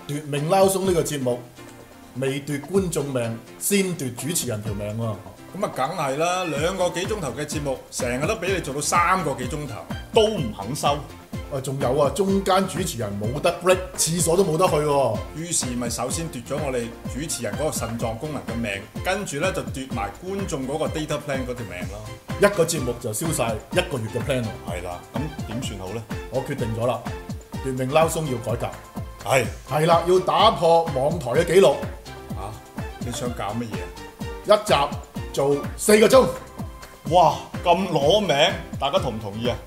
奪命撈鬆呢個節目未奪觀眾命，先奪主持人條命喎。 咁啊，梗係啦，2個幾鐘頭嘅節目，成日都俾你做到3個幾鐘頭， 都唔肯收。 仲有啊，中間主持人冇得 break，廁所都冇得去喎。 於是咪首先奪咗我哋主持人嗰個腎臟功能嘅命，跟住咧就奪埋觀眾嗰個 data plan 嗰條命咯。 一個節目就燒晒1個月嘅 plan 喎。 係啦，咁點算好咧？ 我決定咗啦，奪命撈鬆要改革。係啦，要打破網台嘅紀錄。 你想搞乜嘢？ 一集做4個鐘。 哇，咁攞命，大家同唔同意啊？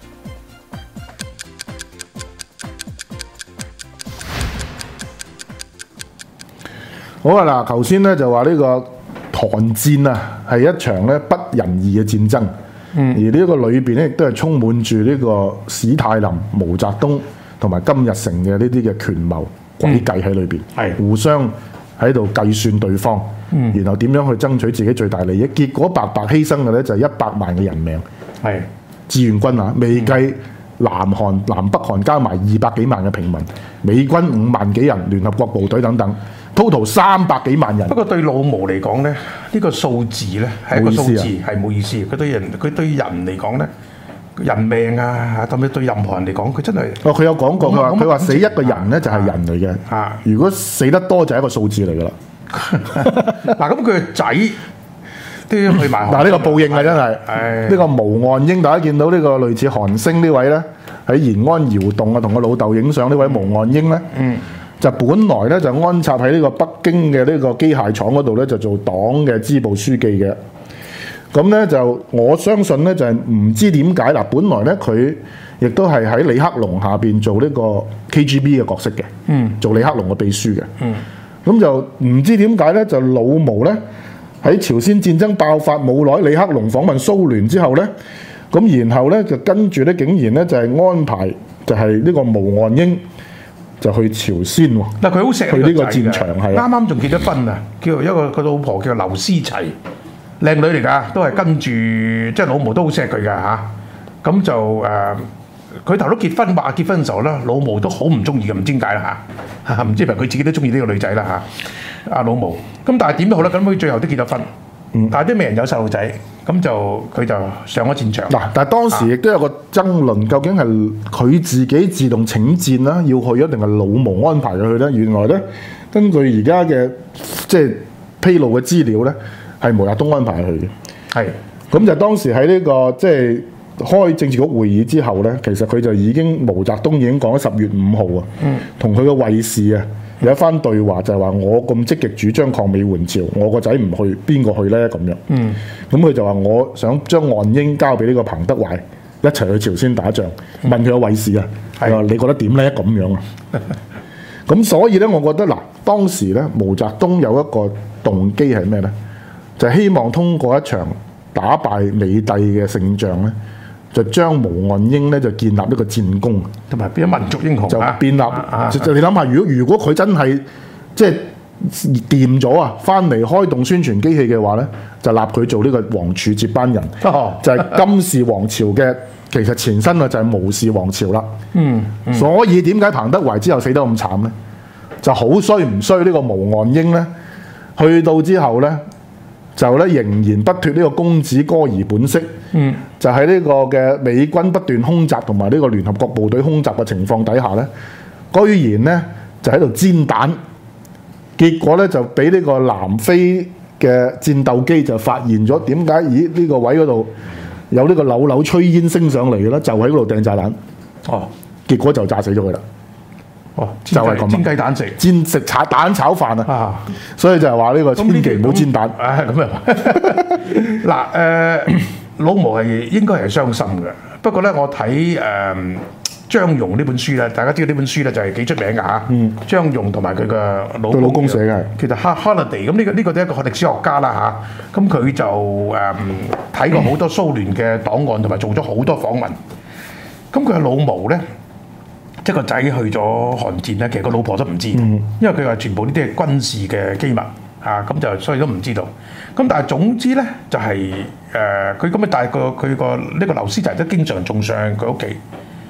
好啊！嗱，頭先咧就話呢個韓戰啊，係一場咧不仁義嘅戰爭。而呢一個裏邊咧，亦都係充滿住呢個史泰林、毛澤東同埋金日成嘅呢啲嘅權謀詭計喺裏邊，互相喺度計算對方，然後點樣去爭取自己最大利益。結果白白犧牲嘅咧就係100萬嘅人命。志願軍啊，未計南北韓加埋200幾萬嘅平民，美軍5萬幾人，聯合國部隊等等。total 300幾萬人。 不過對老毛嚟講咧，呢個數字咧係一個數字，係冇意思。佢對人嚟講咧，人命啊，特別對任何人嚟講，佢真係。 佢有講過，佢話死一個人咧就係人嚟嘅。如果死得多就係一個數字嚟㗎啦。 嗱，咁佢個仔都要去埋。 嗱，呢個報應啊，真係。呢個毛岸英，大家見到呢個類似韓星呢位咧，喺延安窑洞啊，同個老豆影相呢位毛岸英咧。就本來咧就安插喺呢個北京嘅呢個機械廠嗰度咧，就做黨嘅支部書記嘅。咁咧就我相信咧就係唔知點解嗱，本來咧佢亦都係喺李克龍下邊做呢個 KGB 嘅角色嘅，做李克龍嘅秘書嘅。咁就唔知點解咧，就老毛咧喺朝鮮戰爭爆發冇耐，李克龍訪問蘇聯之後咧，咁然後咧就跟住咧竟然咧就係安排就係呢個毛岸英。就去朝鮮喎， 嗱佢好錫去呢個戰場係啱啱仲結咗婚啊，叫一個佢老婆叫劉思齊，靚女嚟㗎，都係跟住即係老毛都好錫佢㗎嚇，咁就佢頭都結婚話結婚嘅時候咧，老毛都好唔中意嘅，唔知點解啦嚇，唔知係咪佢自己都中意呢個女仔啦嚇，阿老毛，咁但係點都好啦，咁佢最後都結咗婚。但係都未人有細路仔，咁就佢就上咗戰場。嗱， 但係當時亦都有個爭論，究竟係佢自己自動請戰啦，要去一定係老毛安排佢去咧？原來咧，根據而家嘅即係披露嘅資料咧，係毛澤東安排佢嘅。係，咁就當時喺呢個即係開政治局會議之後咧，其實佢就已經毛澤東已經講咗10月5號啊，同佢嘅衛士啊。有一番對話就係話我咁積極主張抗美援朝，我個仔唔去，邊個去呢？咁樣。咁佢就話我想將岸英交俾呢個彭德懷一齊去朝鮮打仗，問佢個衛士啊，你覺得點呢？咁樣啊。咁所以呢，我覺得嗱，當時呢，毛澤東有一個動機係咩呢？就係希望通過一場打敗美帝嘅勝仗呢，就將毛岸英咧就建立呢個戰功， 同埋變咗民族英雄， 就建立。就你諗下，如果佢真係即係掂咗啊，翻嚟開動宣傳機器嘅話咧，就立佢做呢個王儲接班人，就係金氏王朝嘅其實前身啊，就係毛氏王朝啦。所以點解彭德懷之後死得咁慘咧？就好衰唔衰呢個毛岸英咧？去到之後咧，就咧仍然不脫呢個公子哥兒本色。就喺呢個嘅美軍不斷空襲同埋呢個聯合國部隊空襲嘅情況底下咧，居然咧就喺度煎彈，結果咧就俾呢個南非嘅戰鬥機就發現咗，點解呢個位嗰度有呢個扭扭炊煙升上嚟嘅咧？就喺嗰度掟炸彈，結果就炸死咗佢啦。就係咁， 煎雞蛋食， 煎食蛋炒飯啊！所以就係話呢個千祈唔好煎蛋。 咁啊嗱老毛係應該係傷心嘅，不過咧我睇張戎呢本書咧，大家知道呢本書咧就係幾出名㗎嚇。張戎同埋佢嘅老公寫嘅，其實 Holiday 咁呢個都係一個歷史學家啦嚇。咁佢就睇過好多蘇聯嘅檔案，同埋做咗好多訪問。咁佢嘅老毛咧，即係個仔去咗韓戰咧，其實個老婆都唔知，因為佢話全部呢啲係軍事嘅機密嚇，咁就所以都唔知道。咁但係總之咧，就係佢咁啊，但係佢個呢個劉思齊都經常仲上佢屋企。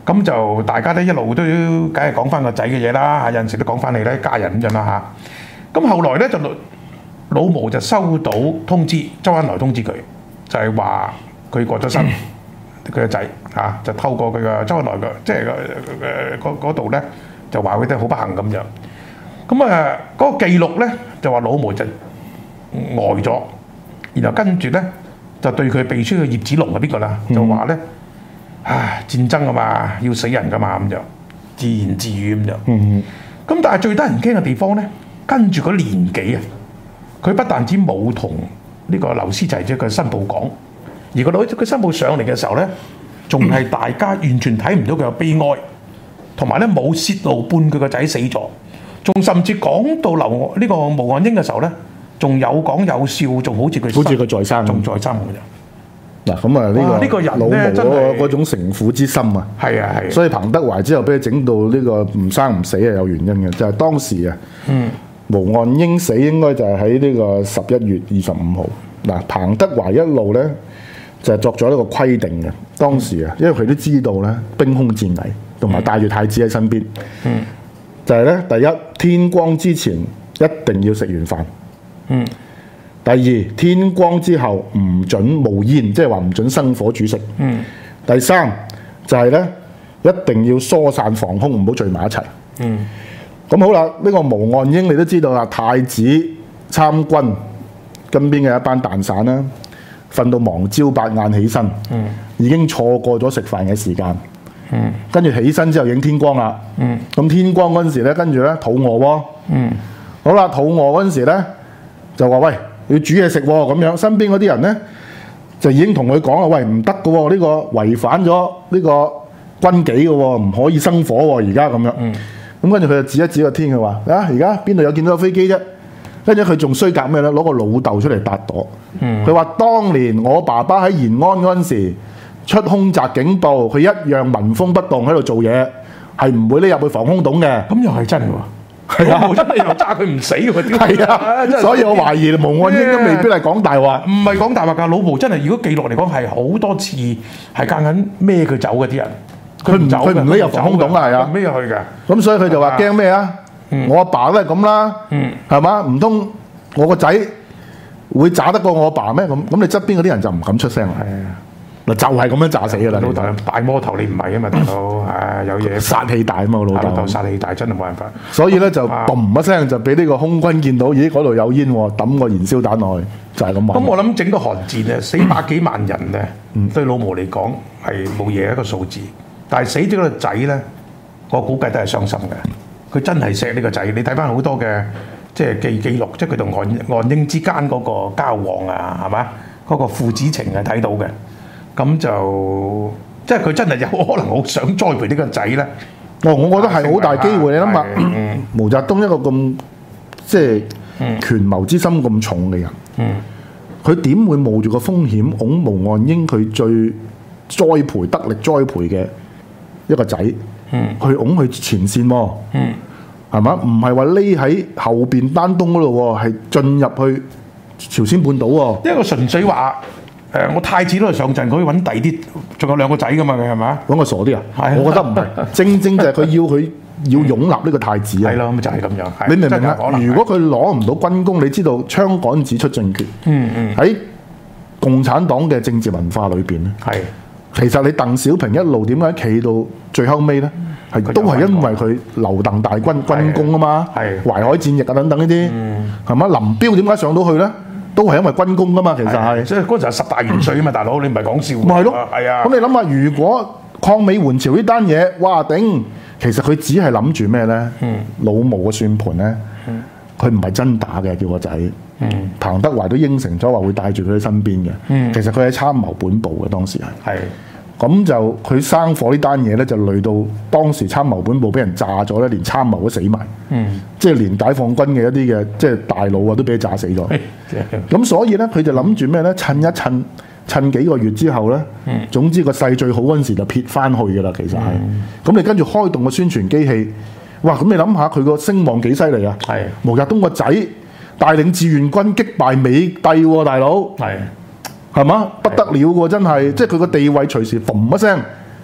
咁就大家咧一路都梗係講翻個仔嘅嘢啦，有陣時都講翻你咧家人咁樣啦嚇。咁後來咧就老毛就收到通知，周恩來通知佢，就係話佢過咗身，佢個仔嚇就透過佢嘅周恩來嘅即係嗰度咧就話佢哋好不幸咁樣。咁嗰個記錄咧就話老毛就呆咗，然後跟住咧就對佢秘書嘅葉子龍係邊個啦？就話咧，唉，戰爭啊嘛，要死人噶嘛咁就自言自語咁就。咁但係最得人驚嘅地方咧，跟住個年紀啊，佢不但止冇同呢個劉師齊即係佢新報講，而佢新報上嚟嘅時候咧，仲係大家完全睇唔到佢有悲哀，同埋咧冇泄露半佢個仔死咗。仲甚至講到呢個毛岸英嘅時候咧，仲有講有笑，仲好似佢在生， 仲在生嘅啫。嗱咁啊，呢個人老毛嗰種城府之心啊，係啊係。所以彭德懷之後俾佢整到呢個唔生唔死係有原因嘅，就係當時啊，毛岸英死應該就係喺呢個11月25號。嗱，彭德懷一路咧就作咗一個規定嘅，當時啊，因為佢都知道咧兵凶戰危，同埋帶住太子喺身邊。就係咧，第一天光之前一定要食完飯。第二天光之後唔准冒煙，即係話唔准生火煮食。第三就係咧一定要疏散防空，唔好聚埋一齊。咁好啦，呢個毛岸英你都知道啦，太子參軍，身邊嘅一班蛋散啦，瞓到忙朝8晏起身，已經錯過咗食飯嘅時間。跟住起身之後影天光啦，咁天光嗰陣時咧，跟住咧肚餓喎，好啦，肚餓嗰陣時咧就話喂，要煮嘢食喎，咁樣身邊嗰啲人咧就已經同佢講啦，喂，唔得㗎喎，呢個違反咗呢個軍紀嘅喎，唔可以生火喎，而家咁樣，咁跟住佢就指一指個天，佢話啊，而家邊度有見到個飛機啫？跟住佢仲衰格咩咧？攞個老豆出嚟搭朵，佢話當年我爸爸喺延安嗰陣時，出空襲警報，佢一樣紋風不動喺度做嘢，係唔會匿入去防空洞嘅。咁又係真喎，係啊，真係又揸佢唔死喎， 係啊，所以我懷疑毛岸英都未必係講大話， 唔係講大話㗎。老毛真係如果記錄嚟講係好多次係間緊孭佢走嘅啲人， 佢唔匿入防空洞啊，係啊， 孭去㗎。 咁所以佢就話驚咩啊？我阿爸都係咁啦，係嘛？唔通我個仔會炸得過我阿爸咩？咁你側邊嗰啲人就唔敢出聲啦。就係咁樣炸死㗎啦！ 老豆大魔頭，你唔係啊嘛，大佬有嘢殺氣大啊嘛，老豆殺氣大真係冇辦法。 所以咧就嘣一聲就俾呢個空軍見到，咦嗰度有煙喎，抌個燃燒彈落去，就係咁話。 咁我諗整個韓戰咧死百幾萬人咧，對老毛嚟講係冇嘢一個數字，但係死咗個仔咧，我估計都係傷心嘅。佢真係錫呢個仔，你睇翻好多嘅即係記錄，即係佢同岸英之間嗰個交往啊，係嘛？嗰個父子情係睇到嘅。咁就即係佢真係有可能好想栽培呢個仔咧。 我覺得係好大機會。你諗下，毛澤東一個咁即係權謀之心咁重嘅人，佢點會冒住個風險擁毛岸英佢最栽培得力栽培嘅一個仔，去擁佢前線喎？係嘛？唔係話匿喺後邊丹東嗰度喎，係進入去朝鮮半島喎。 一個純粹話。我太子都係上陣，佢揾第啲，仲有2個仔噶嘛，佢係咪？ 揾個傻啲啊！我覺得唔係，正就係佢要擁立呢個太子啊！ 係咯，咁就係咁樣。 你明唔明啊？如果佢攞唔到軍功，你知道槍桿子出政權。喺共產黨嘅政治文化裏邊咧，其實你鄧小平一路點解企到最後尾咧？都係因為佢留鄧大軍軍功啊嘛，淮海戰役啊等等呢啲，係嘛？林彪點解上到去咧？都係因為軍功噶嘛，其實係，所以嗰陣係10大元帥啊嘛，大佬你唔係講笑。 咪係咯， 係啊。 咁你諗下，如果抗美援朝呢單嘢，哇頂！其實佢只係諗住咩咧？老毛嘅算盤咧，佢唔係真打嘅，叫個仔。彭德懷都應承咗話會帶住佢喺身邊嘅。其實佢喺參謀本部嘅當時係。咁就佢生火呢單嘢咧，就累到當時參謀本部俾人炸咗咧，連參謀都死埋。即係連解放軍嘅一啲嘅即係大佬啊，都俾佢炸死咗。咁所以咧，佢就諗住咩咧？趁幾個月之後咧，總之個勢最好嗰陣時就撇翻去㗎啦。其實係。咁你跟住開動個宣傳機器，哇！咁你諗下佢個聲望幾犀利啊？毛澤東個仔帶領志願軍擊敗美帝喎，大佬。係嘛？不得了喎！真係，即係佢個地位隨時嘣一聲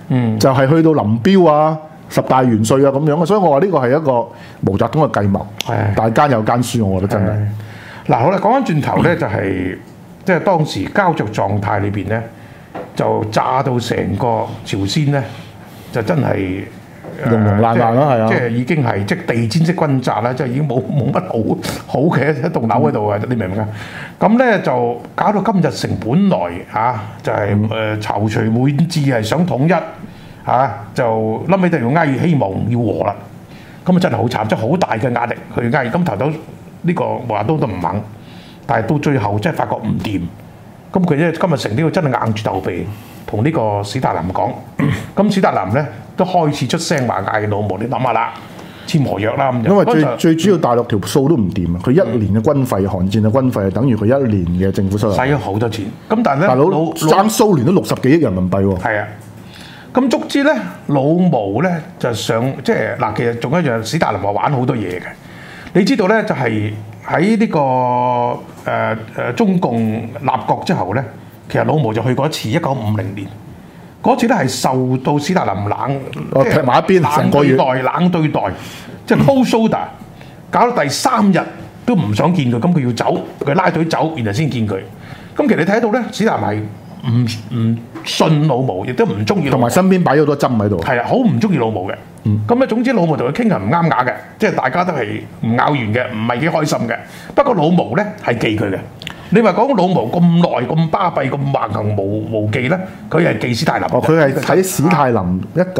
就係去到林彪啊、10大元帥啊咁樣嘅，所以我話呢個係一個毛澤東嘅計謀，但係奸有奸輸，我覺得真係。 嗱，好啦，講翻轉頭咧，就係即係當時膠着狀態裏邊咧，就炸到成個朝鮮咧，就真係融融爛爛啦，係啊， 即係已經係即係地戰式轟炸啦，即係已經冇乜好嘅一棟樓喺度啊！你明唔明啊？咁咧就搞到金日成本來就係躊躇滿志係想統一就臨尾就要哀希望要和啦。咁啊真係好慘，即係好大嘅壓力去哀。咁頭頭呢個毛澤東都唔肯，但係到最後真係發覺唔掂。咁佢咧金日成呢個真係硬住頭皮同呢個史達林講。咁史達林咧都開始出聲話嗌老毛，你諗下啦，簽和約啦咁。 因為最主要大陸條數都唔掂啊！佢一年嘅軍費，韓戰嘅軍費係等於佢一年嘅政府收入。 使咗好多錢。咁但係咧， 大佬爭蘇聯都60幾億人民幣喎。 係啊。咁足之咧，老毛咧就上即係嗱，其實仲有一樣，史達林話玩好多嘢嘅。你知道咧，就係喺呢個中共立國之後咧，其實老毛就去過一次，1950年嗰次咧係受到史達林踢埋一邊成個月冷對待，即係 cold shoulder，搞到第3日都唔想見佢，咁佢要走，佢拉隊走，然後先見佢。咁其實你睇到咧，史達林係唔信老毛，亦都唔中意， 同埋身邊擺咗好多針喺度。 係啊，好唔中意老毛嘅。咁咧，總之老毛同佢傾係唔啱牙嘅，即係大家都係唔拗完嘅，唔係幾開心嘅。不過老毛咧係記佢嘅。你話講老毛咁耐咁巴閉咁橫行無忌咧，佢係記史太林。 佢係喺史太林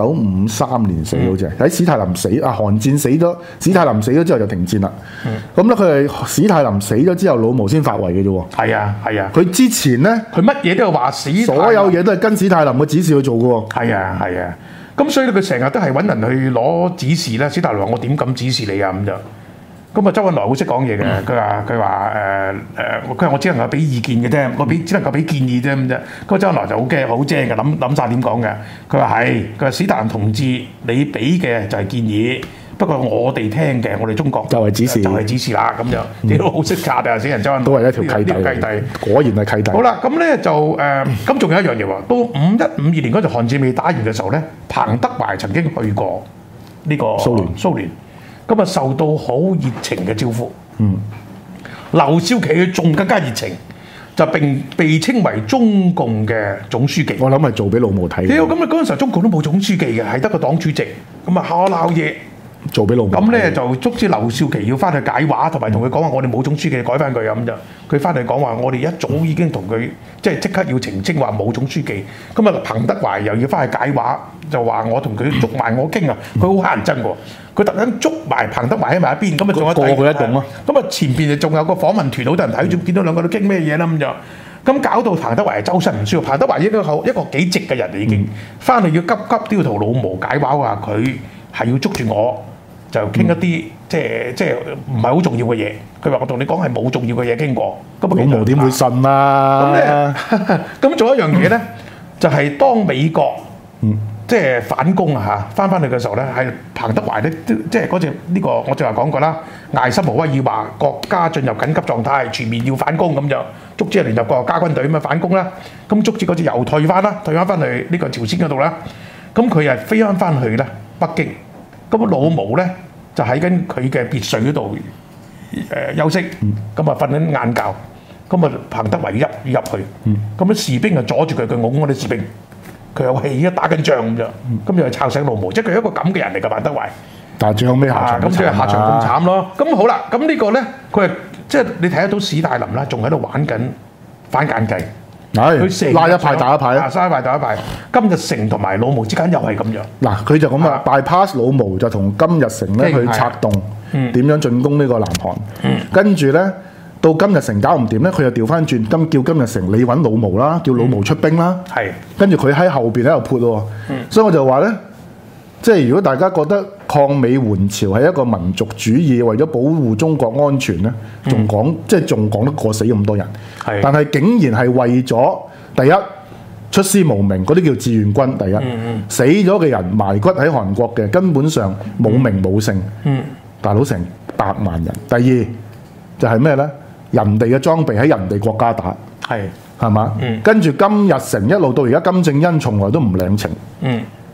1953年死好似係，喺史太林死韓戰死咗，史太林死咗之後就停戰啦。咁咧佢係史太林死咗之後，老毛先發圍嘅啫喎。 係啊係啊。 佢之前咧， 佢乜嘢都係話所有嘢都係跟史太林嘅指示去做嘅喎。 係啊係啊。咁所以佢成日都係揾人去攞指示啦。史達林話：我點敢指示你啊？咁就咁啊。周恩來好識講嘢嘅，佢話佢話我只能夠俾意見嘅啫，我只能夠俾建議啫咁啫。嗰周恩來就好驚好精嘅，諗曬點講嘅。佢話係，佢話史達林同志，你俾嘅就係建議，不過我哋聽嘅，我哋中國就係指示， 就係指示啦。咁就你都好識拆啊！死人周恩來都係一條契弟，果然係契弟。 好啦，咁咧就咁仲有一樣嘢喎。到51、52年嗰陣韓戰未打完嘅時候咧，彭德懷曾經去過呢個蘇聯，咁啊受到好熱情嘅招呼。劉少奇佢仲更加熱情，就並被稱為中共嘅總書記。 我諗係做俾老毛睇。 屌，咁啊嗰陣時候中共都冇總書記嘅，係得個黨主席。咁啊鬧嘢。 做俾老毛咁咧就促使劉少奇要翻去解話，同埋同佢講話，我哋冇總書記，改翻佢咁就。佢翻嚟講話，我哋一早已經同佢即刻要澄清話冇總書記。咁啊，彭德懷又要翻去解話，就話我同佢捉埋我傾啊，佢好乞人憎喎。佢特登捉埋彭德懷喺埋一邊，咁啊仲有過佢一棟咯。 咁啊前邊仲有個訪問團，好多人睇住，見到兩個都傾咩嘢啦咁就。咁搞到彭德懷周身唔舒服。彭德懷應該一個幾直嘅人已經，翻嚟要急都要同老毛解話，話佢係要捉住我。就傾一啲即係唔係好重要嘅嘢。佢話我同你講係冇重要嘅嘢傾過。咁老毛點會信啊？ 咁仲有一樣嘢咧，就係當美國即係反攻啊嚇，翻去嘅時候咧，係彭德懷咧，即係嗰隻呢個我正話講過啦。艾森豪威爾話國家進入緊急狀態，全面要反攻咁就，足之係聯合國加軍隊咁啊反攻啦。咁足之嗰隻又退翻啦，退翻去呢個朝鮮嗰度啦。咁佢係飛翻去咧北京。咁老毛咧就喺緊佢嘅別墅嗰度休息，咁啊瞓緊晏覺，咁啊彭德懷入去，咁啲士兵啊阻住佢，佢拱嗰啲士兵，佢有氣啊打緊仗咁啫，咁就吵醒老毛，即係佢係一個咁嘅人嚟㗎彭德懷。 但係最後尾下場咁即係下場咁慘咯。咁好啦，咁呢個咧佢係即係你睇得到史太林啦，仲喺度玩緊反間計。 佢拉一派打一派啊！拉一派打一派，金日成同埋老毛之間又係咁樣。 嗱，佢就咁啊，bypass 老毛就同金日成咧去策動點樣進攻呢個南韓。跟住咧到金日成搞唔掂咧，佢又調翻轉，叫金日成你揾老毛啦，叫老毛出兵啦。係。跟住佢喺後邊喺度潑喎。所以我就話咧，即係如果大家覺得抗美援朝係一個民族主義，為咗保護中國安全咧，仲講得過死咁多人。但係竟然係為咗第一出師無名嗰啲叫志願軍，第一死咗嘅人埋骨喺韓國嘅根本上冇名冇姓，大佬成100萬人。第二就係咩咧？人哋嘅裝備喺人哋國家打，係嘛？跟住金日成一路到而家金正恩從來都唔領情。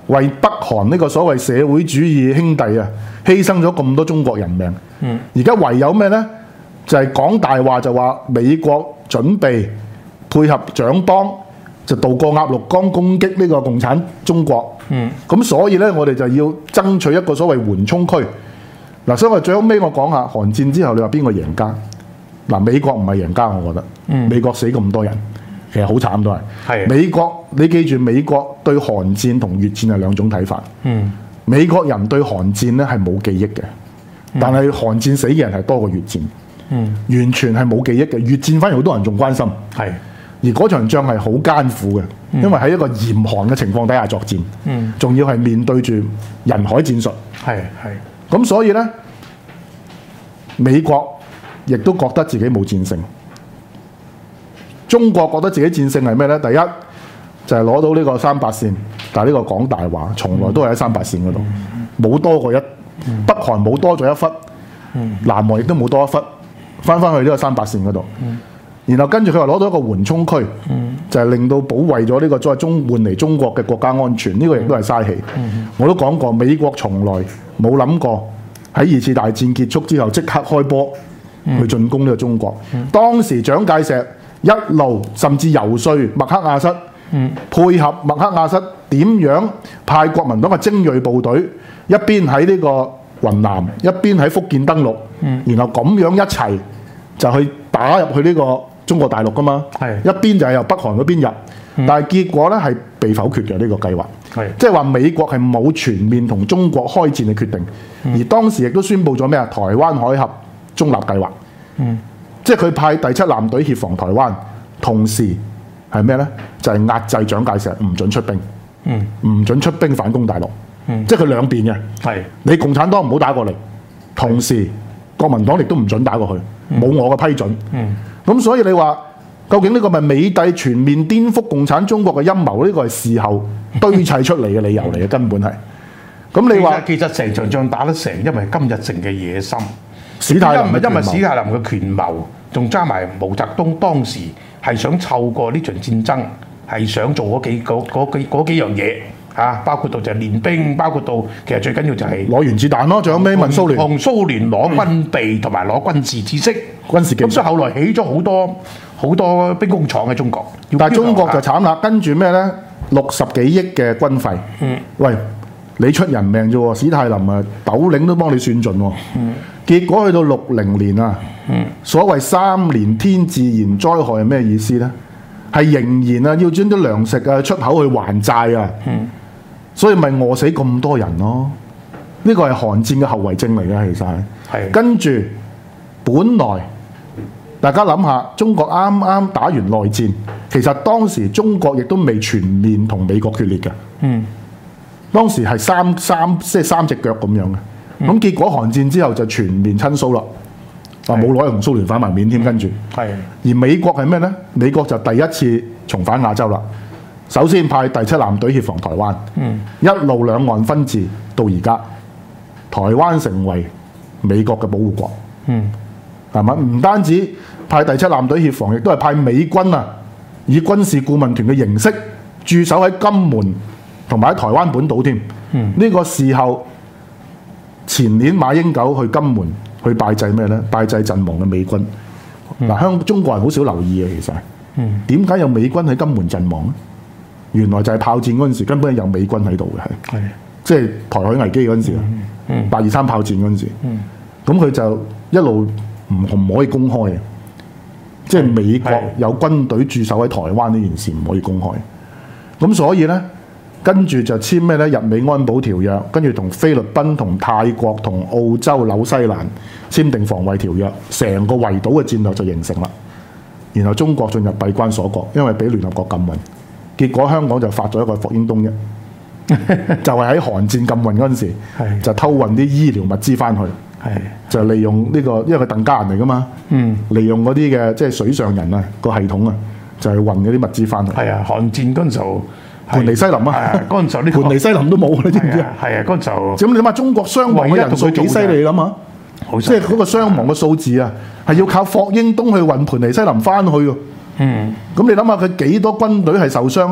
為北韓呢個所謂社會主義兄弟啊，犧牲咗咁多中國人命。而家唯有咩呢？就係講大話，就話美國準備配合蔣幫，就渡過鴨綠江攻擊呢個共產中國。咁所以呢，我哋就要爭取一個所謂緩衝區。嗱，所以我最後尾我講下韓戰之後，你話邊個贏家？嗱，美國唔係贏家，我覺得。美國死咁多人，其實好慘都係。係美國，你記住，美國對韓戰同越戰係兩種睇法。美國人對韓戰呢係冇記憶嘅，但係韓戰死嘅人係多過越戰。完全係冇記憶嘅，越戰反而好多人仲關心。係，而嗰場仗係好艱苦嘅，因為喺一個嚴寒嘅情況底下作戰。仲要係面對住人海戰術。係。咁所以呢，美國亦都覺得自己冇戰勝。中國覺得自己戰勝係咩呢？第一就係攞到呢個3-8線，但係呢個講大話，從來都係喺3-8線嗰度，冇多過一。北韓冇多咗一忽，南韓亦都冇多一忽。翻去呢個3-8線嗰度，然後跟住佢話攞到一個緩衝區，就係令到保衛咗呢個再換嚟中國嘅國家安全，呢個亦都係嘥氣。我都講過，美國從來冇諗過喺2次大戰結束之後即刻開波去進攻呢個中國。當時蔣介石一路甚至游說麥克亞瑟，配合麥克亞瑟點樣派國民黨嘅精鋭部隊，一邊喺呢個雲南，一邊喺福建登陸。然後咁樣一齊就去打入去呢個中國大陸噶嘛，一邊就係由北韓嗰邊入，但係結果呢係被否決嘅呢個計劃，即係話美國係冇全面同中國開戰嘅決定，而當時亦都宣布咗咩啊？台灣海峽中立計劃，即係佢派第7艦隊協防台灣，同時係咩呢？就係壓制蔣介石唔准出兵，唔准出兵反攻大陸，即係佢兩邊嘅，你共產黨唔好打過嚟，同時國民黨亦都唔準打過去，冇我嘅批准。咁所以你話究竟呢個咪美帝全面顛覆共產中國嘅陰謀？呢個係事後堆砌出嚟嘅理由嚟嘅，根本係。咁你話其實成場仗打得成，因為金日成嘅野心， 史太林因為史太林嘅權謀，仲加埋毛澤東當時係想湊過呢場戰爭，係想做嗰幾樣嘢。包括到就係練兵，包括到其實最緊要就係攞原子彈咯，仲有咩問蘇聯？ 同蘇聯攞軍備同埋攞軍事知識、 軍事技術。 咁所以後來起咗好多兵工廠喺中國。 但係中國就慘啦，跟住咩呢？60幾億嘅軍費。喂，你出人命啫喎，史太林啊，斗零都幫你算盡喎。結果去到60年啊，所謂3年天自然災害係咩意思呢？係仍然啊，要將啲糧食啊出口去還債啊。所以咪餓死咁多人咯？呢個係韓戰嘅後遺症嚟嘅，其實係。跟住，本來大家諗下，中國啱啱打完內戰，其實當時中國亦都未全面同美國決裂嘅。當時係三隻腳咁樣嘅。咁結果韓戰之後就全面親蘇啦。冇攞去同蘇聯反埋面添，跟住。而美國係咩呢？美國就第一次重返亞洲啦。首先派第7艦隊協防台灣，一路兩岸分治到而家，台灣成為美國嘅保護國，係咪？唔單止派第7艦隊協防，亦都係派美軍啊，以軍事顧問團嘅形式駐守喺金門同埋喺台灣本島添。呢個時候前年馬英九去金門去拜祭咩呢？拜祭陣亡嘅美軍。中國人好少留意嘅，其實點解有美軍喺金門陣亡呢？原來就係炮戰嗰陣時，根本有美軍喺度嘅，係即係台海危機嗰陣時823炮戰嗰陣時，咁佢就一路唔可以公開嘅，即係美國有軍隊駐守喺台灣呢件事唔可以公開。咁所以呢，跟住就簽咩呢？日美安保條約，跟住同菲律賓、同泰國、同澳洲、紐西蘭簽訂防衛條約，成個圍島嘅戰略就形成啦。然後中國進入閉關鎖國，因為俾聯合國禁運。結果香港就發咗一個霍英東啫，就係喺韓戰禁運嗰陣時，就偷運啲醫療物資翻去，就利用呢個，因為佢鄧家人嚟噶嘛，利用嗰啲嘅即係水上人啊個系統啊，就係運嗰啲物資翻去。係啊，韓戰嗰陣時候，盤尼西林啊，嗰陣時候呢盤尼西林都冇，你知唔知啊？係啊，嗰陣時候。咁你諗下中國傷亡嘅人數幾犀利，你諗下，即係嗰個傷亡嘅數字啊，係要靠霍英東去運盤尼西林翻去喎。咁你諗下佢幾多軍隊係受傷咧？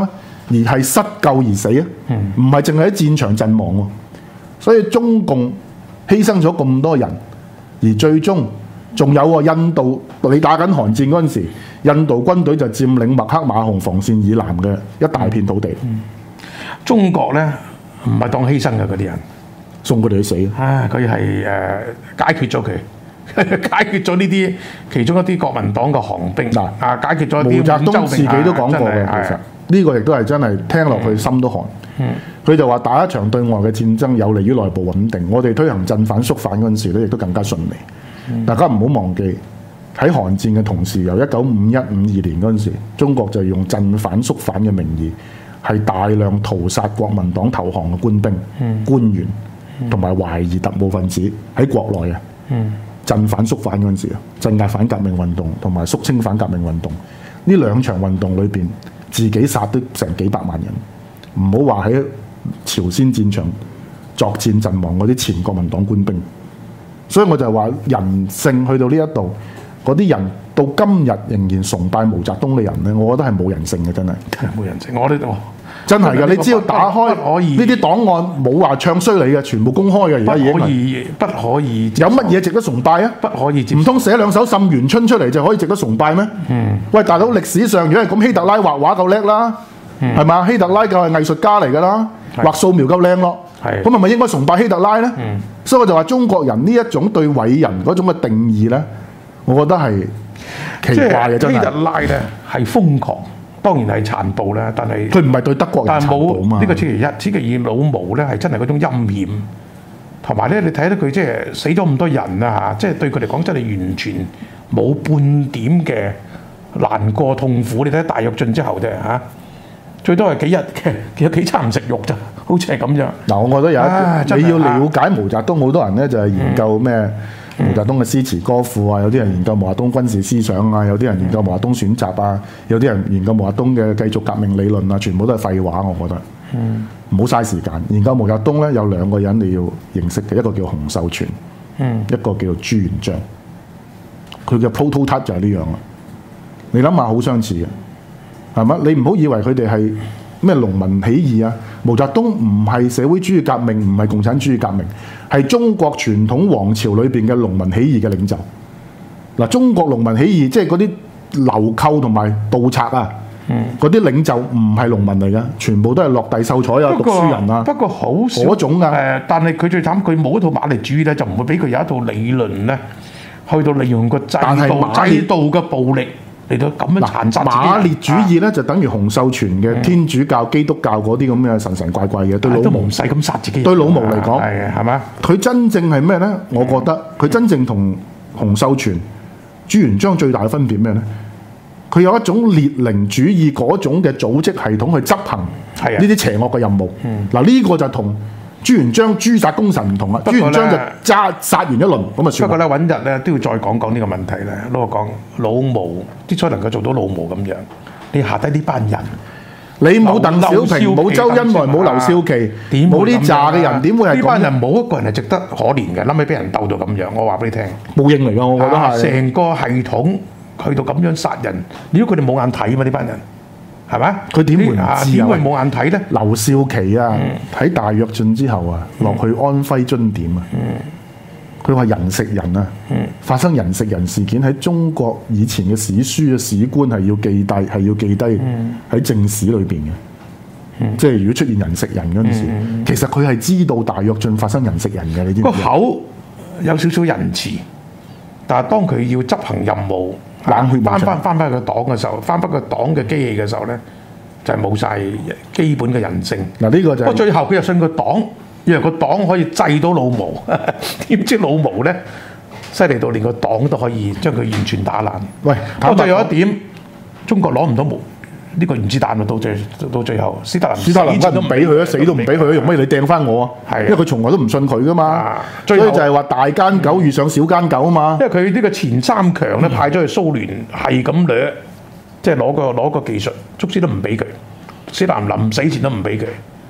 而係失救而死啊，唔係淨係喺戰場陣亡喎。所以中共犧牲咗咁多人，而最終仲有喎印度，你打緊韓戰嗰陣時，印度軍隊就佔領麥克馬洪防線以南嘅一大片土地。 中國咧唔係當犧牲嘅嗰啲人， 送佢哋去死。 佢係解決咗佢。解決咗呢啲其中一啲國民黨嘅降兵解決咗啲。毛澤東自己都講過嘅，其實呢個亦都係真係聽落去心都寒。佢就話打一場對外嘅戰爭有利於內部穩定，我哋推行鎮反肅反嗰陣時咧，亦都更加順利。大家唔好忘記喺韓戰嘅同時，由1951、52年嗰陣時，中國就用鎮反肅反嘅名義，係大量屠殺國民黨投降嘅官兵、官員同埋懷疑特務分子喺國內嘅。鎮反肅反嗰陣時啊，鎮壓反革命運動同埋肅清反革命運動，呢兩場運動裏邊，自己殺都成幾百萬人，唔好話喺朝鮮戰場作戰陣亡嗰啲前國民黨官兵。所以我就話人性去到呢一度，嗰啲人到今日仍然崇拜毛澤東嘅人咧，我覺得係冇人性嘅，真係冇人性。我呢度。 真係㗎，你只要打開呢啲檔案，冇話唱衰你嘅，全部公開嘅。而家已經不可以。 有乜嘢值得崇拜啊？ 不可以。 唔通寫兩首《沁園春》出嚟就可以值得崇拜咩？喂，大佬，歷史上如果係咁，希特拉畫畫夠叻啦，係嘛？希特拉就係藝術家嚟㗎啦，畫素描夠靚咯。咁係咪應該崇拜希特拉咧？所以我就話中國人呢一種對偉人嗰種嘅定義咧，我覺得係奇怪嘅。真係希特拉咧係瘋狂。當然係殘暴啦，但係佢唔係對德國人殘暴嘛。 呢個此其一，此其二，老毛咧係真係嗰種陰險，同埋咧你睇到佢即係死咗咁多人啊，即係對佢嚟講真係完全冇半點嘅難過痛苦。你睇大躍進之後啫嚇，最多係幾日嘅，有幾餐唔食肉咋，好似係咁樣。 嗱，我覺得有一你要了解毛澤東，好多人咧就係研究咩？毛澤東嘅詩詞歌賦啊，有啲人研究毛澤東軍事思想啊，有啲人研究毛澤東選集啊，有啲人研究毛澤東嘅繼續革命理論啊，全部都係廢話，我覺得。唔好嘥時間。研究毛澤東咧，有兩個人你要認識嘅，一個叫洪秀全，一個叫朱元璋。佢嘅 prototype 就係呢樣啦。你諗下，好相似嘅，係嘛？你唔好以為佢哋係咩農民起義啊！毛澤東唔係社會主義革命，唔係共產主義革命，係中國傳統王朝裏邊嘅農民起義嘅領袖。嗱，中國農民起義即係嗰啲流寇同埋盜賊啊，嗰啲領袖唔係農民嚟噶，全部都係落第秀才啊、讀書人啊。 不過好少嗰種啊。 但係佢最慘，佢冇一套馬列主義咧，就唔會俾佢有一套理論咧，去到利用個制度嘅暴力。嚟到咁樣殘殺自己。 馬列主義咧就等於洪秀全嘅天主教、基督教嗰啲咁嘅神神怪怪嘅，對老毛唔使咁殺自己。 對老毛嚟講， 係嘛？ 佢真正係咩咧？我覺得佢真正同洪秀全、朱元璋最大嘅分別咩咧？佢有一種列寧主義嗰種嘅組織系統去執行呢啲邪惡嘅任務。嗱，呢個就同朱元璋誅殺功臣唔同啦。朱元璋就殺完一輪咁啊算。 不過咧，揾日咧都要再講講呢個問題咧。攞我講老毛之所以能夠做到老毛咁樣，你下低呢班人， 你冇鄧小平、冇周恩來、冇劉少奇、冇呢扎嘅人，點會係咁？ 呢班人冇一個人係值得可憐嘅，諗起俾人鬥到咁樣，我話俾你聽， 冇應嚟㗎，我覺得係成個系統去到咁樣殺人，如果佢哋冇眼睇嘛，呢班人。係咪？佢點會唔知啊？點會冇眼睇咧？ 劉少奇啊，喺大躍進之後啊，落去安徽津點啊，佢話人食人啊，發生人食人事件喺中國以前嘅史書嘅史官係要記低，係要記低喺正史裏邊嘅。即係如果出現人食人嗰陣時，其實佢係知道大躍進發生人食人嘅，你知唔知？個口有少少仁慈，但係當佢要執行任務。冷血翻個黨嘅時候，翻返個黨嘅機器嘅時候咧，就係冇晒基本嘅人性。 嗱，呢個就不過最後佢又信個黨，以為個黨可以制到老毛，點知老毛咧犀利到連個黨都可以將佢完全打爛。喂，不過有一點，中國攞唔到毛呢個原子彈啊！到最後，斯大林都唔俾佢啊，死都唔俾佢啊，用乜嘢你掟翻我啊？係，因為佢從來都唔信佢噶嘛。所以就係話大奸狗遇上小奸狗啊嘛。 因為佢呢個前三強咧派咗去蘇聯，係咁掠，即係攞個技術，卒之都唔俾佢。斯大林臨死前都唔俾佢。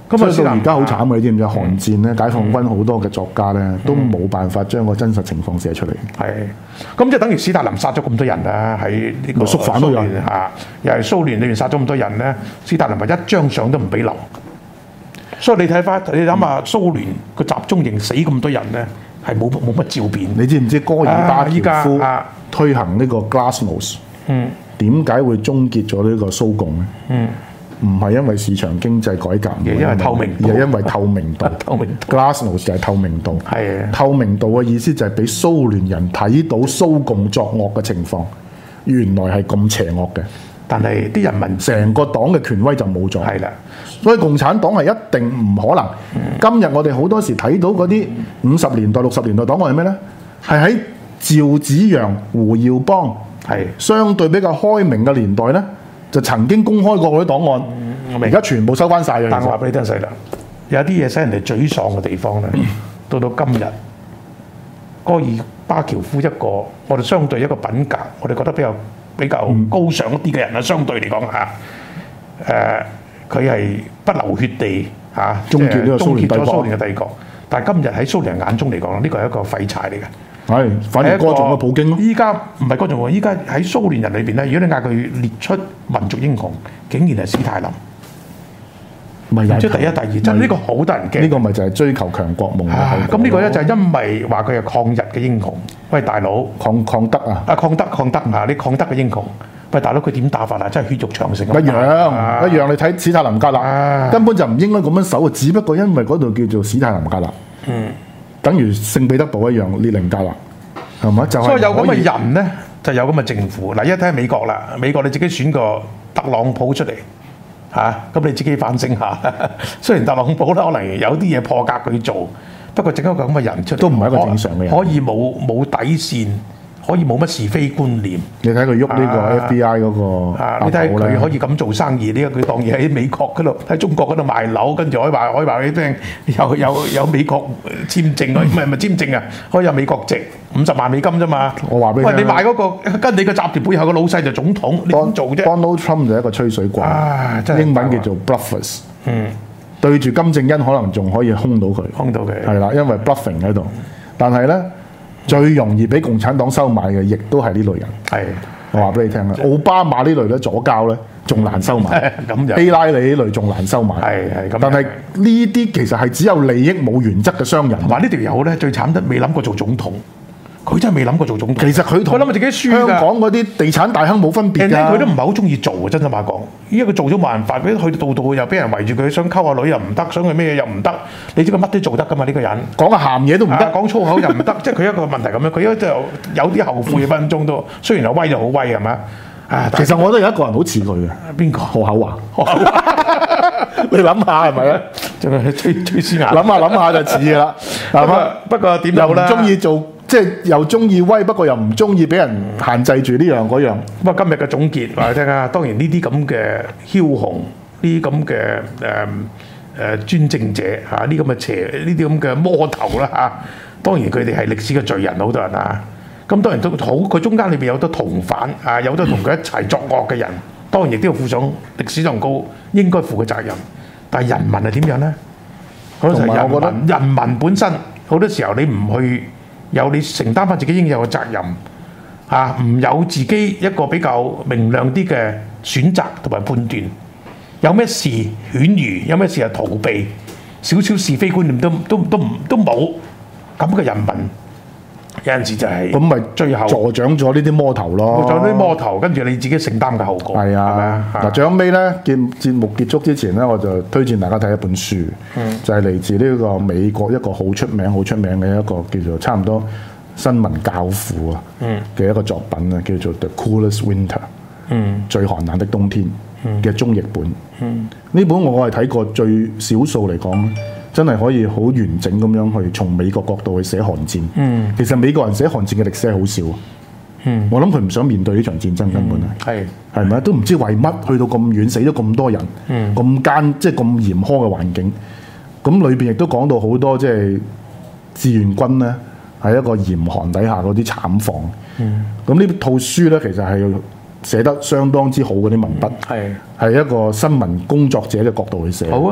所以到而家好慘嘅，你知唔知？韓戰咧，解放軍好多嘅作家咧，都冇辦法將個真實情況寫出嚟。 係，咁即係等於史達林殺咗咁多人啦，喺呢個肅反都有嚇，又係蘇聯裏面殺咗咁多人咧，史達林係一張相都唔俾留。所以你睇翻，你諗下蘇聯個集中營死咁多人咧，係冇乜照片。 你知唔知戈爾巴喬夫推行呢個 Glasnost？點解會終結咗呢個蘇共咧？唔係因為市場經濟改革， 而係因為透明度， 而係因為透明度。 透明度 Glasnost 就係透明度。 係透明度嘅意思就係俾蘇聯人睇到蘇共作惡嘅情況，原來係咁邪惡嘅。 但係啲人民成個黨嘅權威就冇咗。 係啦， 所以共產黨係一定唔可能。今日我哋好多時睇到嗰啲50年代、60年代檔案係咩咧？係喺趙紫陽、胡耀邦係相對比較開明嘅年代咧，就曾經公開過嗰啲檔案。而家全部收翻晒嘅。 但我話俾你聽細啦，有啲嘢使人哋沮喪嘅地方咧，到今日，戈爾巴喬夫一個我哋相對一個品格，我哋覺得比較高尚一啲嘅人啦，相對嚟講嚇，佢係不流血地嚇，終結咗蘇聯嘅帝國。但係今日喺蘇聯眼中嚟講，呢個係一個廢柴嚟嘅。 係，反而歌頌個普京咯。 依家唔係歌頌喎，依家喺蘇聯人裏邊咧，如果你嗌佢列出民族英雄，竟然係史太林。即係第一、第二，即係呢個好得人驚。 呢個咪就係追求強國夢嘅。 咁呢個咧就係因為話佢係抗日嘅英雄。喂，大佬， 抗德啊！ 抗德啊！你抗德嘅英雄。喂，大佬，佢點打法啊？真係血肉長城。 一樣。你睇史太林格勒，根本就唔應該咁樣守啊！只不過因為嗰度叫做史太林格勒。等於聖彼得堡一樣，列寧格勒，係咪？就係。 所以有咁嘅人咧，就有咁嘅政府。嗱，一睇下美國啦，美國你自己選個特朗普出嚟。咁你自己反省下。雖然特朗普咧可能有啲嘢破格佢做，不過整一個咁嘅人出嚟， 都唔係一個正常嘅人， 可以冇底線，可以冇乜是非觀念。 你睇佢喐呢個 FBI 嗰個， 你睇佢可以咁做生意，呢個佢當然喺美國嗰度，喺中國嗰度賣樓，跟住可以話你聽，有美國簽證，唔係簽證啊，可以有美國籍，50萬美金啫嘛。 我話俾你聽， 喂，你賣嗰個跟你個集團背後嘅老細就總統，你點做啫 ？Donald Trump 就係一個吹水怪，英文叫做 bluffers。對住金正恩可能仲可以兇到佢，係啦，因為 bluffing 喺度。但係咧，最容易俾共產黨收買嘅，亦都係呢類人。係，我話俾你聽啦，奧巴馬呢類咧左膠咧，仲難收買。希拉里呢類仲難收買。係咁。但係呢啲其實係只有利益冇原則嘅商人。 話呢條友咧最慘得未諗過做總統。佢真係未諗過做總統。 其實佢同諗自己輸香港嗰啲地產大亨冇分別㗎。 佢都唔係好中意做啊！真心話講，依家佢做咗冇辦法，佢去到度又俾人圍住佢，想溝下女又唔得，想去咩又唔得。你知佢乜都做得㗎嘛？呢個人講個鹹嘢都唔得， 講粗口又唔得，即係佢一個問題咁樣。佢一就有啲後悔嘅分鐘都，雖然係威就好威係咪？ 其實我都有一個人好似佢嘅， 邊個？ 何厚華。你諗下係咪啊？ 仲係吹絲牙。 諗下就似㗎啦。 不過點又唔中意做。即係又中意威，不過又唔中意俾人限制住呢樣嗰樣。 不過今日嘅總結話你聽啊，當然呢啲咁嘅梟雄，呢啲咁嘅專政者嚇，呢啲咁嘅邪，呢啲咁嘅魔頭啦嚇，當然佢哋係歷史嘅罪人，好多人啊。咁當然都好，佢中間裏邊有好多同犯啊，有好多同佢一齊作惡嘅人，當然亦都要負上歷史上高應該負嘅責任。但係人民係點樣咧？好多時候我覺得人民本身好多時候你唔去。有你承擔翻自己應有嘅責任，唔有自己一個比較明亮啲嘅選擇同埋判斷，有咩事犬儒，有咩事係逃避，少少是非觀念都冇，咁嘅人民有陣時就係咁咪最後助長咗呢啲魔頭咯， 助長啲魔頭，跟住你自己承擔嘅後果。係啊， 嗱，最後尾咧，節目結束之前咧，我就推薦大家睇一本書，就係嚟自呢個美國一個好出名嘅一個叫做差唔多新聞教父啊嘅一個作品啊，叫做 The Coolest Winter，最寒冷的冬天嘅中譯本。呢本我係睇過最少數嚟講。真係可以好完整咁樣去從美國角度去寫韓戰。其實美國人寫韓戰嘅歷史係好少。我諗佢唔想面對呢場戰爭根本係咪？都唔知為乜去到咁遠死咗咁多人，即係咁嚴苛嘅環境。咁裏邊亦都講到好多即係志願軍咧喺一個嚴寒底下嗰啲慘況。咁呢套書咧其實係寫得相當之好嗰啲文筆，係一個新聞工作者嘅角度去寫。好啊！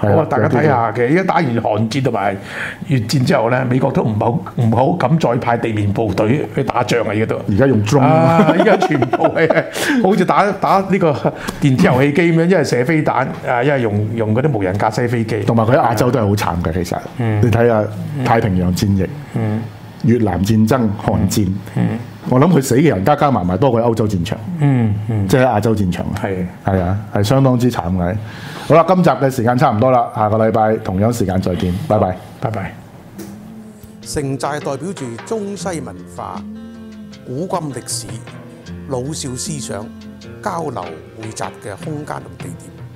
咁啊，大家睇下嘅，而家打完韓戰同埋越戰之後咧，美國都唔好敢再派地面部隊去打仗啊！而家都而家用 drone 而家全部係好似打呢個電子遊戲機咁樣，一係射飛彈啊，一係用嗰啲無人駕駛飛機。 同埋佢喺亞洲都係好慘嘅，其實。你睇下太平洋戰役、越南戰爭、韓戰，我諗佢死嘅人加埋多過歐洲戰場。即係喺亞洲戰場。係啊，係相當之慘嘅。好啦，今集嘅時間差唔多啦，下個禮拜同樣時間再見，拜拜， 拜拜。 城寨代表住中西文化、古今歷史、老少思想交流匯集嘅空間同地點。